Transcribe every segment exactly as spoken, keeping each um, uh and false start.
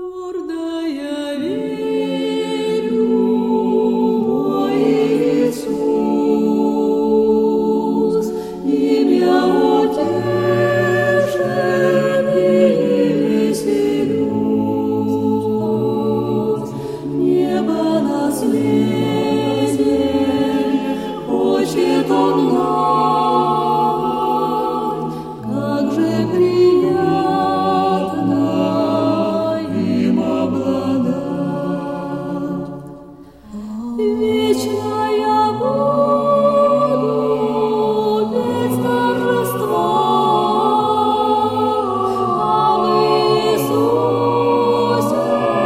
Твердо я верю, мой Иисус, имя утешение веселюсь. Небо наследие хочет Он дать, как же приятно им обладать. Вечно я буду петь торжества об Иисусе,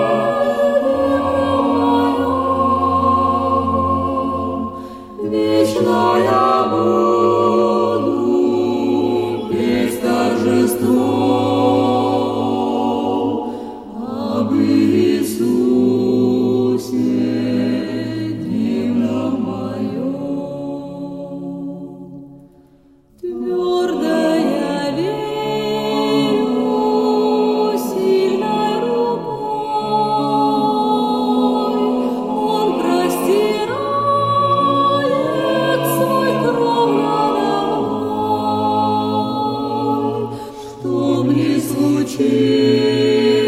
веру мою. Вечно я буду петь торжество об Иисусе, дивном моем. Твердо я верю сильной рукой, Он простирает свой кров надо мной, чтоб не случилось